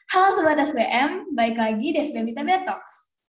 Halo Sobat SBM, baik lagi di SBM ITB Talks.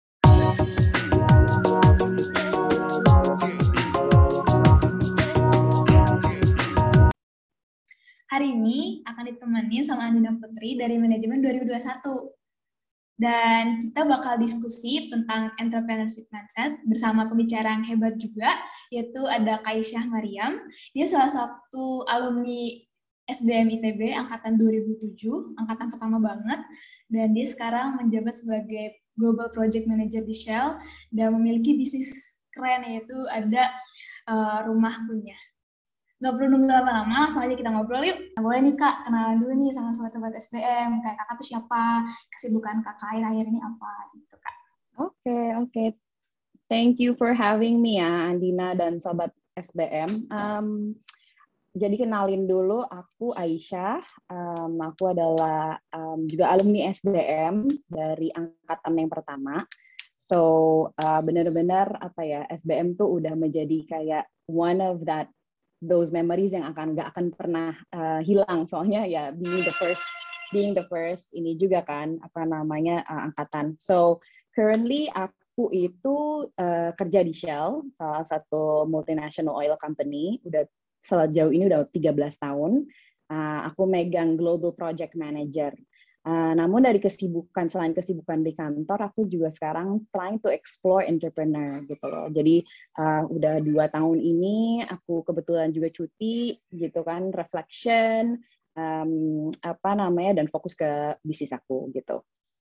Hari ini akan ditemani sama Andina Putri dari Manajemen 2021. Dan kita bakal diskusi tentang entrepreneurship mindset bersama pembicara yang hebat juga, yaitu ada Kaisyah Mariam. Dia salah satu alumni SBM ITB angkatan 2007, angkatan pertama banget, dan dia sekarang menjabat sebagai Global Project Manager di Shell dan memiliki bisnis keren, yaitu ada rumah kunyah. Nggak perlu nunggu lama-lama, langsung aja kita ngobrol yuk. Nah, boleh nih Kak, kenalan dulu nih sama sobat-sobat SBM. Kayak Kakak tuh siapa, kesibukan Kakak akhir-akhir ini apa gitu Kak. Oke. Thank you for having me ya, Andina dan sobat SBM. Jadi kenalin dulu, aku Aisyah. Aku adalah juga alumni SBM dari angkatan yang pertama. So benar-benar SBM tuh udah menjadi kayak one of those memories yang nggak akan pernah hilang. Soalnya ya being the first ini juga kan angkatan. So currently aku itu kerja di Shell, salah satu multinational oil company. Sejauh ini udah 13 tahun. Aku megang Global Project Manager. Namun selain kesibukan di kantor, aku juga sekarang trying to explore entrepreneur gitu loh. Jadi udah 2 tahun ini aku kebetulan juga cuti gitu kan, reflection, dan fokus ke bisnis aku gitu.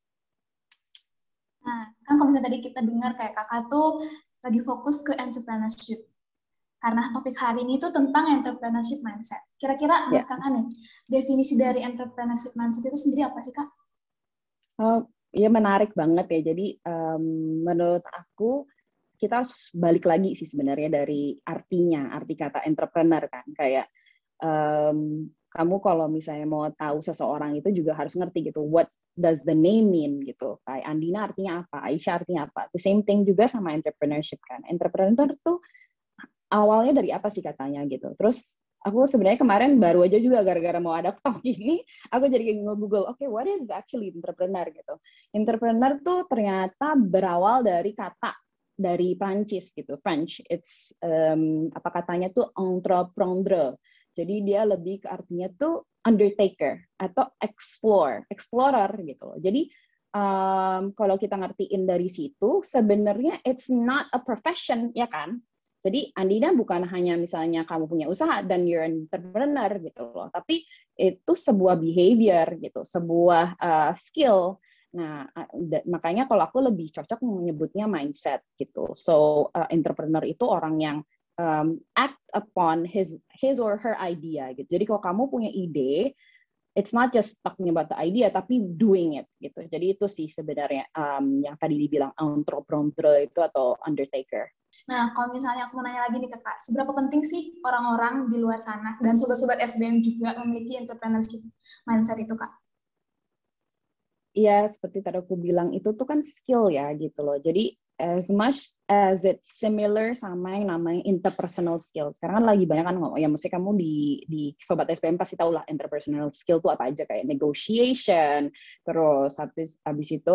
Nah, kan kalau misalnya tadi kita dengar kayak Kakak tuh lagi fokus ke entrepreneurship. Karena topik hari ini tuh tentang entrepreneurship mindset. Kira-kira menurut Kakak nih, definisi dari entrepreneurship mindset itu sendiri apa sih Kak? Ya menarik banget ya. Jadi menurut aku kita harus balik lagi sih sebenarnya dari arti kata entrepreneur kan. Kayak kamu kalau misalnya mau tahu seseorang itu juga harus ngerti gitu, what does the name mean gitu. Kayak Andina artinya apa, Aisyah artinya apa. The same thing juga sama entrepreneurship kan. Entrepreneur tuh awalnya dari apa sih katanya gitu. Terus aku sebenarnya kemarin baru aja juga gara-gara mau ada talk ini, aku jadi nge-google, okay, what is actually entrepreneur gitu. Entrepreneur tuh ternyata berawal dari kata dari Prancis gitu, French. It's katanya tuh entreprendre. Jadi dia lebih ke artinya tuh undertaker atau explorer gitu. Jadi kalau kita ngertiin dari situ, sebenarnya it's not a profession, ya kan? Jadi Andina bukan hanya misalnya kamu punya usaha dan you're an entrepreneur gitu loh, tapi itu sebuah behavior gitu, sebuah skill. Nah, makanya kalau aku lebih cocok menyebutnya mindset gitu. So entrepreneur itu orang yang act upon his or her idea gitu. Jadi kalau kamu punya ide, it's not just talking about the idea, tapi doing it gitu. Jadi itu sih sebenarnya yang tadi dibilang entrepreneur itu atau undertaker. Nah, kalau misalnya aku mau nanya lagi nih ke Kak, seberapa penting sih orang-orang di luar sana dan sobat-sobat SBM juga memiliki entrepreneurship mindset itu, Kak? Iya, seperti tadi aku bilang, itu tuh kan skill ya gitu loh. Jadi as much as it's similar sama yang namanya interpersonal skill. Sekarang kan lagi banyak kan ngomong, ya mesti kamu di Sobat SPM pasti tahu lah interpersonal skill tuh apa aja, kayak negotiation, terus habis itu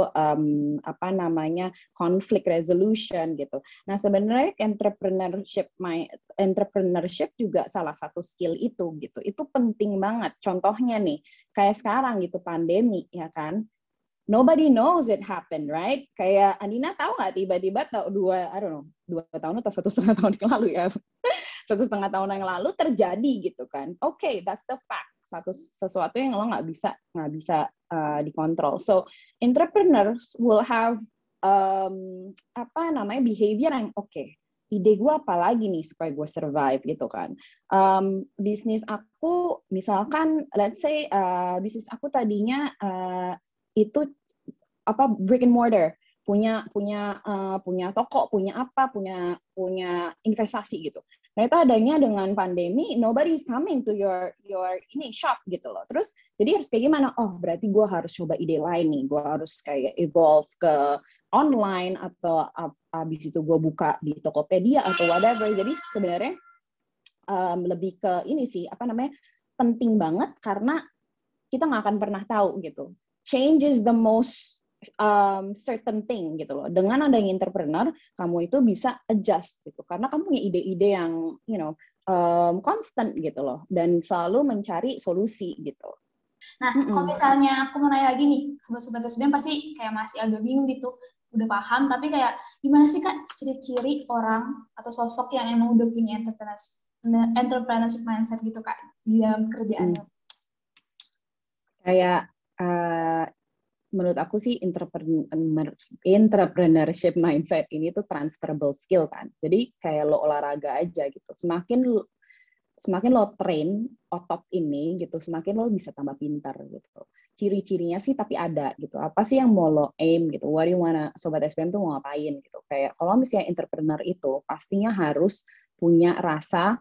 conflict resolution gitu. Nah sebenarnya entrepreneurship juga salah satu skill itu gitu. Itu penting banget. Contohnya nih, kayak sekarang gitu pandemi ya kan. Nobody knows it happened, right? Kayak Andina tahu nggak tiba-tiba dua tahun atau 1,5 tahun yang lalu ya, 1,5 tahun yang lalu terjadi gitu kan. Okay, that's the fact. Sesuatu yang lo nggak bisa dikontrol. So entrepreneurs will have behavior yang okay. Ide gue apa lagi nih supaya gue survive gitu kan. Bisnis aku misalkan, let's say bisnis aku tadinya itu brick and mortar, punya toko, punya investasi gitu. Ternyata adanya dengan pandemi, nobody is coming to your ini shop gitu loh. Terus jadi harus kayak gimana? Oh berarti gue harus coba ide lain nih. Gue harus kayak evolve ke online atau abis itu gue buka di Tokopedia atau whatever. Jadi sebenarnya lebih ke ini sih penting banget karena kita nggak akan pernah tahu gitu. change is the most certain thing gitu loh. Dengan adanya entrepreneur, kamu itu bisa adjust gitu, karena kamu punya ide-ide yang constant gitu loh, dan selalu mencari solusi gitu. Nah, kalau misalnya aku mau nanya lagi nih, sobat-sobat SBM pasti kayak masih agak bingung gitu, udah paham, tapi kayak gimana sih Kak ciri-ciri orang atau sosok yang emang udah punya entrepreneurship mindset gitu Kak, di dalam kerjaannya? Kayak menurut aku sih entrepreneurship mindset ini tuh transferable skill kan. Jadi kayak lo olahraga aja gitu. Semakin lo train otot ini gitu, semakin lo bisa tambah pintar gitu. Ciri-cirinya sih tapi ada gitu. Apa sih yang mau lo aim gitu? What do you wanna, sobat SPM tuh mau ngapain gitu? Kayak kalau misalnya entrepreneur itu pastinya harus punya rasa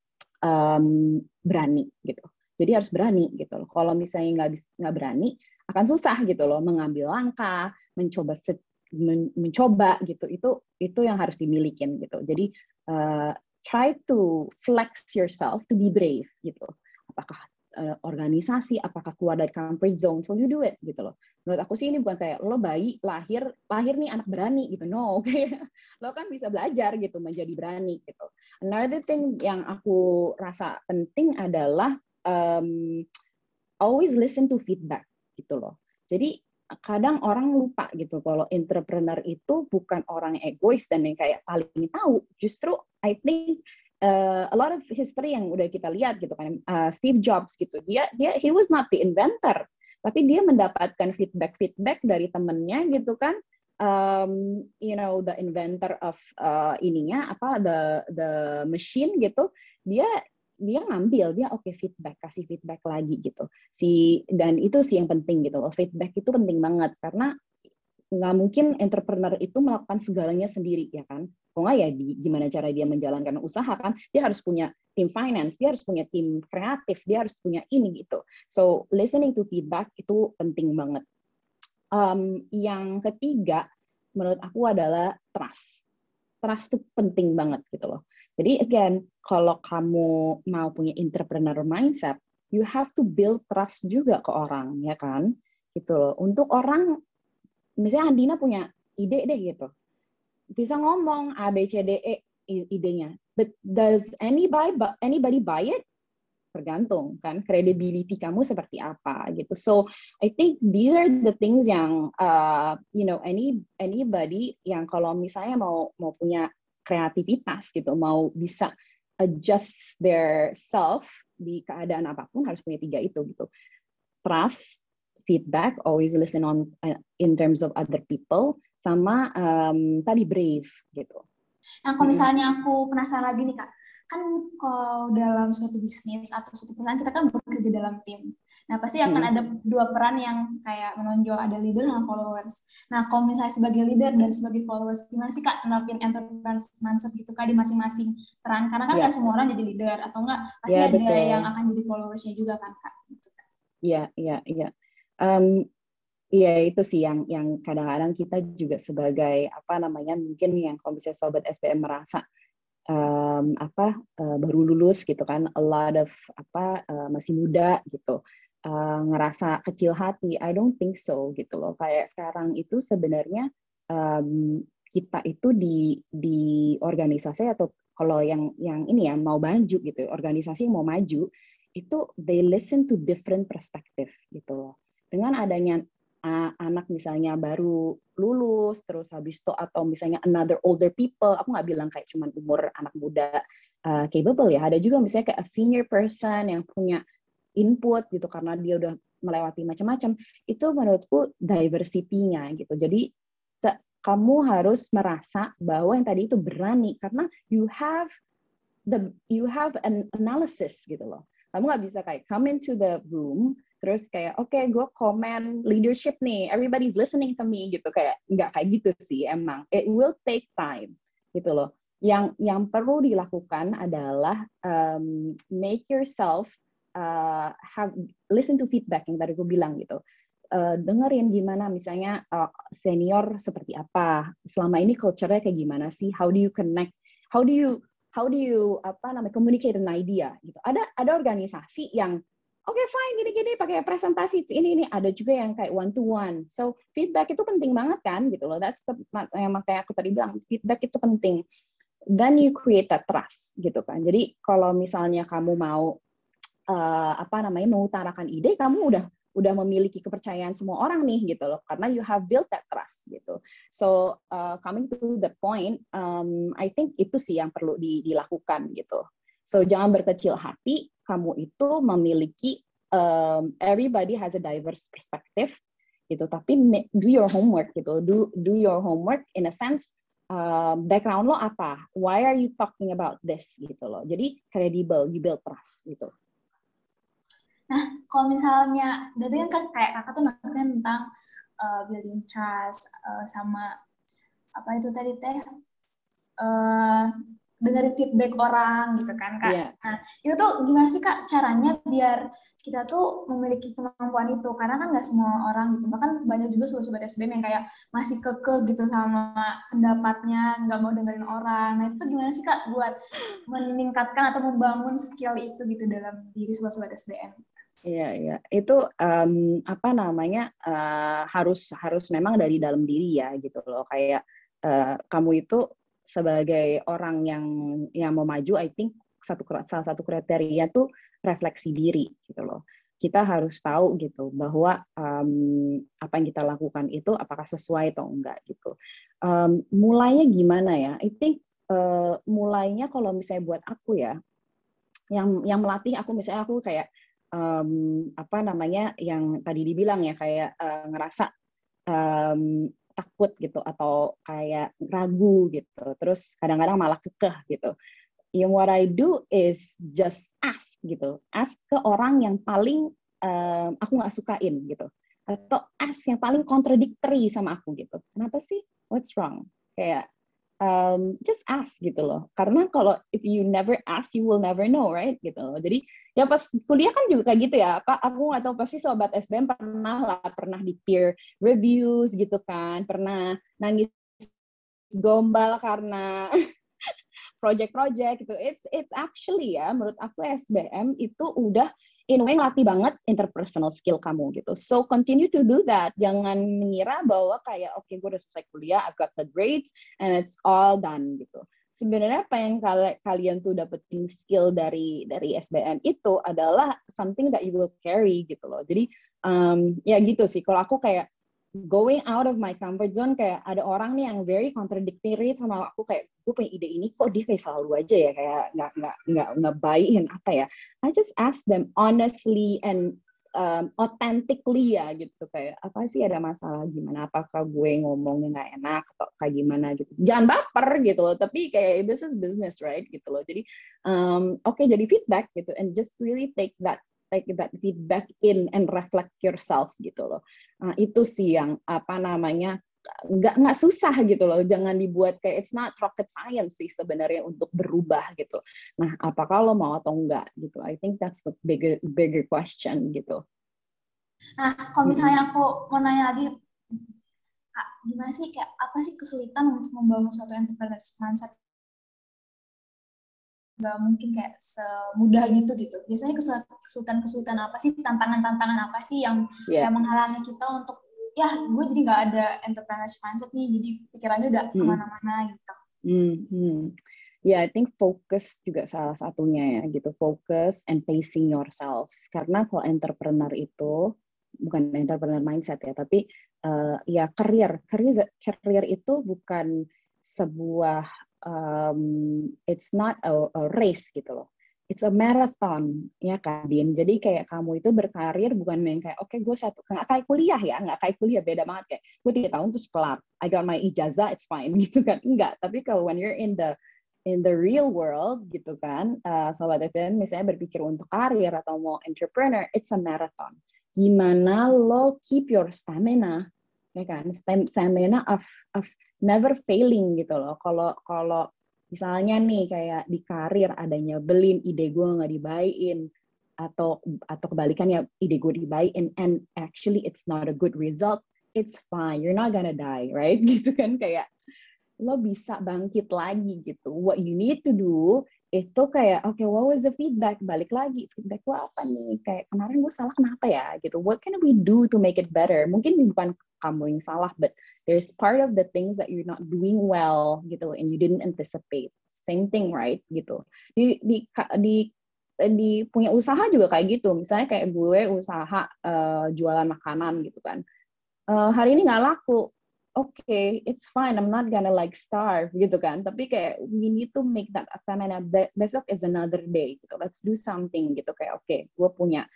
berani gitu. Jadi harus berani gitu loh. Kalau misalnya nggak berani, akan susah gitu loh mengambil langkah, mencoba gitu. Itu yang harus dimilikin gitu. Jadi try to flex yourself to be brave gitu. Apakah organisasi, apakah keluar dari comfort zone, so you do it gitu loh. Menurut aku sih ini bukan kayak lo bayi lahir nih anak berani gitu, no. Lo kan bisa belajar gitu menjadi berani gitu. Another thing yang aku rasa penting adalah always listen to feedback gitu loh. Jadi kadang orang lupa gitu kalau entrepreneur itu bukan orang egois dan yang kayak paling tahu. Justru I think a lot of history yang udah kita lihat gitu kan, Steve Jobs gitu, dia he was not the inventor, tapi dia mendapatkan feedback dari temennya gitu kan, the inventor of ininya apa the machine gitu, dia ngambil, dia feedback, kasih feedback lagi gitu. Dan itu sih yang penting gitu loh, feedback itu penting banget karena nggak mungkin entrepreneur itu melakukan segalanya sendiri ya kan. Kok nggak ya gimana cara dia menjalankan usaha kan, dia harus punya tim finance, dia harus punya tim kreatif, dia harus punya ini gitu. So listening to feedback itu penting banget. Yang ketiga menurut aku adalah trust itu penting banget gitu loh. Jadi again, kalau kamu mau punya entrepreneur mindset, you have to build trust juga ke orang ya kan, gitu loh. Untuk orang, misalnya Andina punya ide deh gitu, bisa ngomong A B C D E idenya, but does anybody buy it? Tergantung kan credibility kamu seperti apa gitu. So I think these are the things yang anybody yang kalau misalnya mau punya kreativitas gitu, mau bisa adjust their self di keadaan apapun, harus punya 3 itu gitu. Trust, feedback, always listen on in terms of other people, sama tadi brave gitu. Nah, kalau misalnya aku penasaran lagi nih Kak, kan kalau dalam suatu bisnis atau suatu perusahaan kita kan bekerja dalam tim. Nah, pasti akan ada 2 peran yang kayak menonjol, ada leader dan followers. Nah, kalau misalnya sebagai leader dan sebagai followers, gimana sih Kak nerapin entrepreneur mindset gitu Kak di masing-masing peran? Karena kan nggak semua orang jadi leader, atau nggak pasti ada betul. Yang akan jadi followersnya juga kan Kak. Iya. Iya, itu sih yang kadang-kadang kita juga sebagai mungkin yang kalau misalnya sobat SPM merasa baru lulus gitu kan, a lot of masih muda gitu, ngerasa kecil hati. I don't think so gitu loh. Kayak sekarang itu sebenarnya kita itu di organisasi, atau kalau yang ini ya mau maju gitu, organisasi yang mau maju itu they listen to different perspective gitu loh. Dengan adanya anak misalnya baru lulus, terus habis itu, atau misalnya another older people, aku nggak bilang kayak cuman umur anak muda capable ya, ada juga misalnya kayak a senior person yang punya input gitu, karena dia udah melewati macam-macam, itu menurutku diversity-nya gitu. Jadi kamu harus merasa bahwa yang tadi itu berani, karena you have an analysis gitu loh. Kamu nggak bisa kayak come into the room terus kayak oke, gue komen leadership nih, everybody's listening to me gitu, kayak nggak kayak gitu sih. Emang it will take time gitu loh. Yang perlu dilakukan adalah make yourself listen to feedback yang tadi gue bilang gitu. Dengerin gimana misalnya senior seperti apa, selama ini culture-nya kayak gimana sih, how do you connect, how do you communicate an idea gitu. Ada organisasi yang Oke, fine, gini-gini pakai presentasi ini ada juga yang kayak one to one. So feedback itu penting banget kan gitu loh. That's yang makanya aku tadi bilang feedback itu penting. Then you create that trust gitu kan. Jadi kalau misalnya kamu mau mengutarakan ide, kamu udah memiliki kepercayaan semua orang nih gitu loh, karena you have built that trust gitu. So coming to the point, I think itu sih yang perlu dilakukan gitu. So jangan berkecil hati, kamu itu memiliki everybody has a diverse perspective gitu, tapi do your homework gitu, do your homework in a sense. Background lo apa? Why are you talking about this gitu loh. Jadi credible, you build trust gitu. Nah, kalau misalnya, dari kan kayak kakak tuh nanya tentang building trust, sama apa itu tadi teh, dengerin feedback orang gitu kan kak. Yeah. Nah itu tuh gimana sih kak caranya biar kita tuh memiliki kemampuan itu, karena kan nggak semua orang gitu, bahkan banyak juga sobat-sobat SBM yang kayak masih kekeh gitu sama pendapatnya, nggak mau dengerin orang. Nah itu tuh gimana sih kak buat meningkatkan atau membangun skill itu gitu dalam diri sobat-sobat SBM? Iya, itu harus memang dari dalam diri ya gitu loh. Kayak kamu itu sebagai orang yang mau maju, I think salah satu kriteria tuh refleksi diri gitu loh. Kita harus tahu gitu bahwa apa yang kita lakukan itu apakah sesuai atau enggak gitu. Mulainya gimana ya? I think mulainya kalau misalnya buat aku ya, yang melatih aku, misalnya aku kayak yang tadi dibilang ya, kayak ngerasa takut gitu atau kayak ragu gitu, terus kadang-kadang malah kekeh gitu. What I do is just ask gitu, ask ke orang yang paling aku nggak sukain gitu, atau ask yang paling contradictory sama aku gitu. Kenapa sih? What's wrong? Kayak just ask gitu loh. Karena kalau if you never ask, you will never know, right? Gitu loh. Jadi ya pas kuliah kan juga kayak gitu ya. Aku nggak tahu, pasti sobat SBM pernah di peer reviews gitu kan, pernah nangis gombal karena project-project gitu. It's actually ya, menurut aku SBM itu udah in a way ngelatih banget interpersonal skill kamu gitu. So continue to do that. Jangan mengira bahwa kayak oke, gue udah selesai kuliah, I've got the grades and it's all done gitu. Sebenarnya apa yang kalian tuh dapetin skill dari SBM itu adalah something that you will carry gitu loh. Jadi ya gitu sih. Kalau aku kayak going out of my comfort zone, kayak ada orang nih yang very contradictory sama aku, kayak gue punya ide ini kok dia kayak selalu aja ya, kayak nggak baik apa ya. I just ask them honestly and authentically ya gitu, kayak apa sih, ada masalah gimana, apakah gue ngomongnya nggak enak atau kayak gimana gitu. Jangan baper gitu loh, tapi kayak this is business, right gitu loh. Jadi oke, jadi feedback gitu, and just really take that feedback in and reflect yourself gitu loh. Nah, itu sih yang nggak susah gitu loh. Jangan dibuat kayak it's not rocket science sih sebenarnya untuk berubah gitu. Nah, apakah lo mau atau enggak gitu? I think that's the bigger question gitu. Nah, kalau misalnya aku mau nanya lagi, Kak, gimana sih, kayak apa sih kesulitan untuk membangun suatu entrepreneurship mindset? Nggak mungkin kayak semudah gitu. Biasanya kesulitan apa sih, tantangan apa sih yang kayak menghalangi kita untuk, ya gue jadi nggak ada entrepreneurship mindset nih, jadi pikirannya udah kemana-mana gitu. I think focus juga salah satunya ya gitu, focus and pacing yourself. Karena kalau entrepreneur itu bukan entrepreneur mindset ya, tapi ya career itu bukan sebuah it's not a race gitu loh. It's a marathon, ya kan, Din? Jadi kayak kamu itu berkarir bukan yang kayak, oke, gue nggak kayak kuliah ya, nggak kayak kuliah, beda banget, kayak gue 3 tahun terus kelar, I got my ijazah, it's fine, gitu kan. Enggak, tapi kalau when you're in the real world gitu kan, sobat FM misalnya berpikir untuk karir atau mau entrepreneur, it's a marathon. Gimana lo keep your stamina, ya kan, stamina of never failing gitu loh. Kalau misalnya nih kayak di karir ada nyebelin, ide gue nggak dibaikin, atau kebalikannya ide gue dibaikin and actually it's not a good result, it's fine, you're not gonna die, right? Gitu kan, kayak lo bisa bangkit lagi gitu. What you need to do itu kayak okay, what was the feedback, balik lagi feedback gue apa nih, kayak kemarin gue salah kenapa ya gitu, what can we do to make it better, mungkin bukan kamu yang salah, but there's part of the things that you're not doing well gitu and you didn't anticipate. Same thing, right, gitu. Di punya usaha juga kayak gitu, misalnya kayak gue usaha jualan makanan gitu kan, hari ini nggak laku, okay, it's fine, I'm not gonna like starve gitu kan, tapi kayak we need to make that stamina, besok is another day gitu, let's do something gitu, kayak okay, gue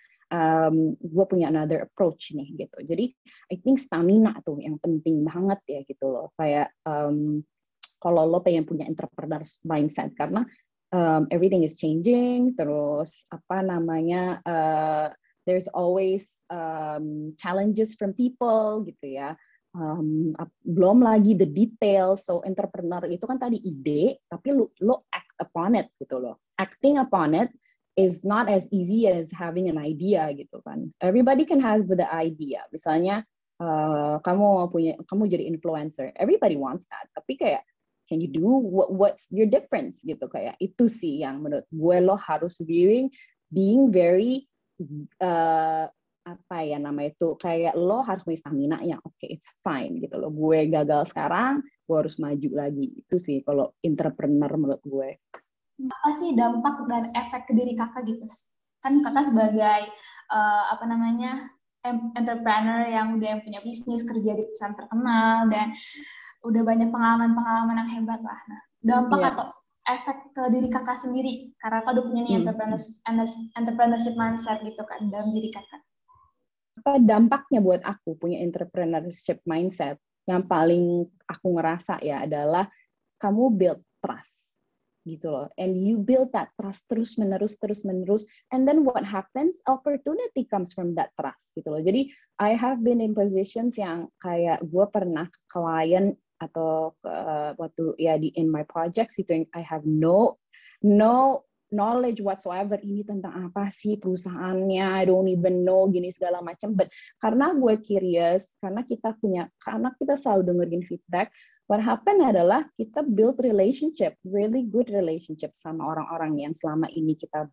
punya another approach nih gitu. Jadi I think stamina tuh yang penting banget ya gitu loh, kayak kalau lo pengen punya entrepreneur mindset, karena everything is changing, terus apa namanya, there's always challenges from people gitu ya. Belum lagi the details. So entrepreneur itu kan tadi ide, tapi lo act upon it gitu loh. Acting upon it is not as easy as having an idea gitu kan. Everybody can have the idea. Misalnya kamu jadi influencer, everybody wants that. Tapi kayak can you do what's your difference gitu, kayak itu sih yang menurut gue lo harus being very apa ya namanya itu, kayak lo harus punya stamina yang okay, it's fine gitu loh, gue gagal sekarang, gue harus maju lagi. Itu sih kalau entrepreneur menurut gue. Apa sih dampak dan efek ke diri kakak gitu? Kan kakak sebagai apa namanya entrepreneur yang udah punya bisnis, kerja di perusahaan terkenal, dan udah banyak pengalaman-pengalaman yang hebat lah. Nah, dampak atau efek ke diri kakak sendiri, karena kakak udah punya nih entrepreneurship mindset gitu kan dalam diri kakak. Apa dampaknya buat aku punya entrepreneurship mindset? Yang paling aku ngerasa ya adalah kamu build trust gitu loh, and you build that trust terus menerus, and then what happens, opportunity comes from that trust gitu loh. Jadi I have been in positions yang kayak gue pernah klien atau waktu ya in my projects gitu, I have no knowledge whatsoever, ini tentang apa sih perusahaannya, I don't even know gini segala macam, but karena gue curious, karena kita selalu dengerin feedback, what happen adalah kita build relationship, really good relationship sama orang-orang yang selama ini kita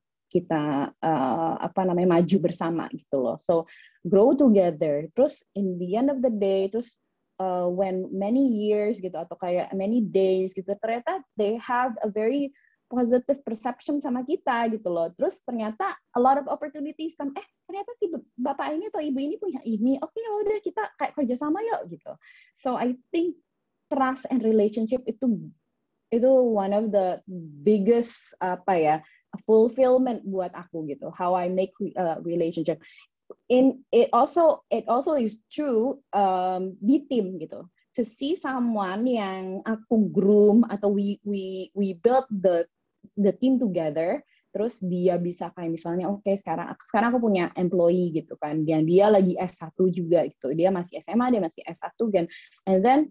maju bersama gitu loh. So grow together. Terus in the end of the day, terus when many years gitu atau kayak many days gitu, ternyata they have a very positive perception sama kita gitu loh. Terus ternyata a lot of opportunities come, ternyata si bapak ini atau ibu ini punya ini, oke, udah kita kayak kerjasama yuk gitu. So I think trust and relationship itu one of the biggest fulfillment buat aku gitu. How I make relationship. It also is true di tim gitu. To see someone yang aku groom atau we build the team together, terus dia bisa kayak misalnya sekarang aku punya employee gitu kan, dan dia lagi S1 juga gitu, dia masih SMA, dia masih S1 kan, and then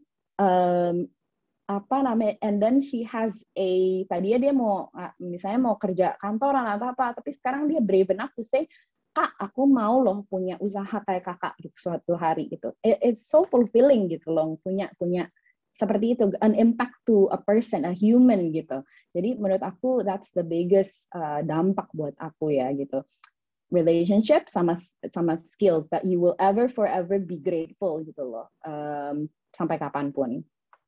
and then she has tadinya dia mau misalnya mau kerja kantoran atau apa, tapi sekarang dia brave enough to say, Kak, aku mau loh punya usaha kayak kakak gitu suatu hari gitu. It's so fulfilling gitu loh, punya seperti itu, an impact to a person, a human gitu. Jadi menurut aku that's the biggest dampak buat aku ya gitu. Relationship sama skills that you will forever be grateful gitu loh, sampai kapanpun.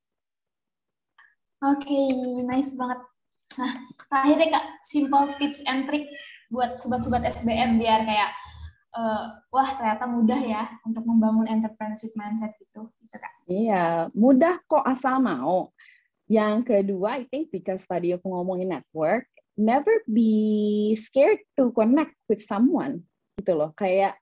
Oke, nice banget. Nah, terakhir deh Kak, simple tips and trick buat sobat-sobat SBM biar kayak wah ternyata mudah ya untuk membangun entrepreneurship mindset gitu Kak. Iya, mudah kok asal mau. Yang kedua, I think because tadi aku ngomongin network, never be scared to connect with someone gitu loh. Kayak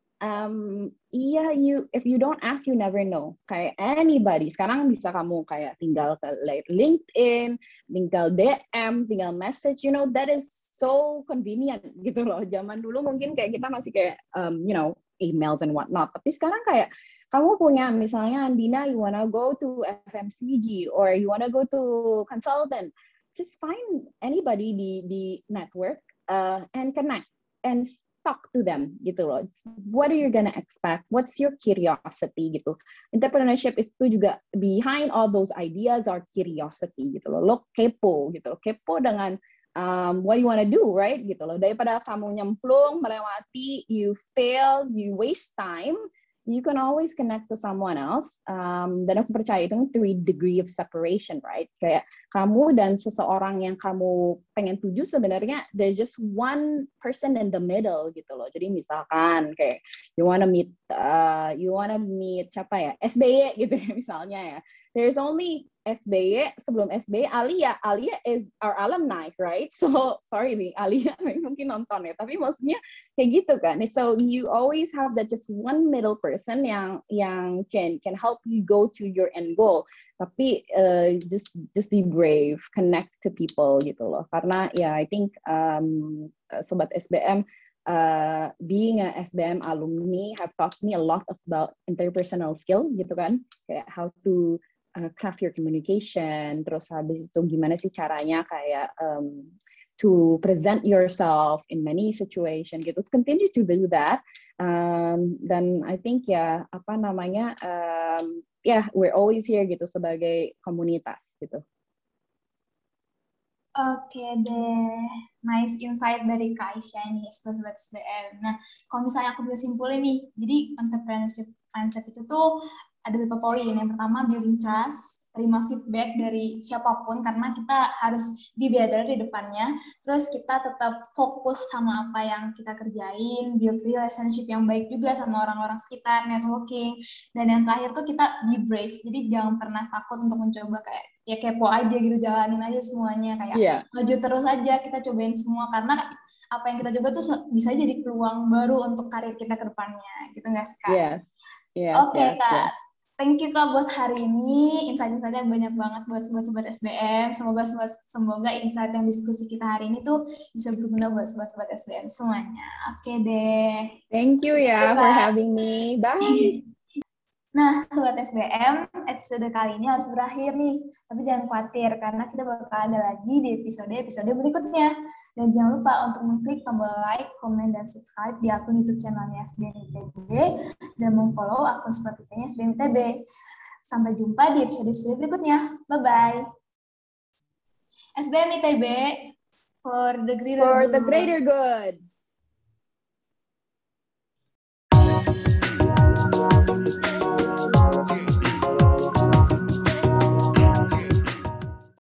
if you don't ask, you never know. Kayak anybody. Sekarang bisa kamu kayak tinggal ke LinkedIn, tinggal DM, tinggal message. That is so convenient gitu loh. Zaman dulu mungkin kayak kita masih kayak emails and whatnot. Tapi sekarang kayak kamu punya misalnya Andina, you wanna go to FMCG or you wanna go to consultant, just find anybody di network and connect and talk to them gitu loh. What are you gonna expect? What's your curiosity gitu. Entrepreneurship itu juga behind all those ideas are curiosity gitu loh. Lo kepo gitu loh. Kepo dengan what you wanna do, right? Gitu loh. Daripada kamu nyemplung, melewati, you fail, you waste time, you can always connect to someone else. Dan aku percaya itu 3 degree of separation, right? Kayak kamu dan seseorang yang kamu pengen tuju sebenarnya there's just one person in the middle gitu loh. Jadi misalkan kayak you wanna meet siapa ya? SBY gitu ya misalnya ya. There's only SBY, sebelum SBY, Alia is our alumni, right? So, sorry nih, Alia mungkin nonton ya, tapi maksudnya kayak gitu kan. So, you always have that just one middle person yang can help you go to your end goal. Tapi just be brave, connect to people gitu loh. Karena ya, I think Sobat SBM, being a SBM alumni have taught me a lot about interpersonal skill gitu kan. Kayak how to craft your communication, terus habis itu gimana sih caranya kayak to present yourself in many situation gitu. Continue to do that. Dan I think we're always here gitu sebagai komunitas gitu. Oke deh, nice insight dari Kak Aisyah nih, Sobat SBM. Nah, kalau misalnya aku bisa simpulin nih, jadi entrepreneurship mindset itu tuh ada beberapa poin. Yang pertama, building trust, terima feedback dari siapapun, karena kita harus be better di depannya. Terus kita tetap fokus sama apa yang kita kerjain, build relationship yang baik juga sama orang-orang sekitar, networking. Dan yang terakhir tuh kita be brave, jadi jangan pernah takut untuk mencoba kayak, ya kepo aja gitu, jalanin aja semuanya, kayak maju terus aja, kita cobain semua, karena apa yang kita coba tuh bisa jadi peluang baru untuk karir kita ke depannya, gitu nggak sih, Kak? Oke, Kak. Thank you, Kak, buat hari ini. Insight-insightnya banyak banget buat sobat-sobat SBM. Semoga insight yang diskusi kita hari ini tuh bisa berguna buat sobat-sobat SBM semuanya. Oke deh. Thank you ya for having me. Bye. Nah, Sobat SBM, episode kali ini harus berakhir nih. Tapi jangan khawatir, karena kita bakal ada lagi di episode-episode berikutnya. Dan jangan lupa untuk mengklik tombol like, komen, dan subscribe di akun YouTube channelnya SBM ITB, dan memfollow akun Spotify-nya SBM ITB. Sampai jumpa di episode-episode berikutnya. Bye-bye. SBM ITB, for the greater good.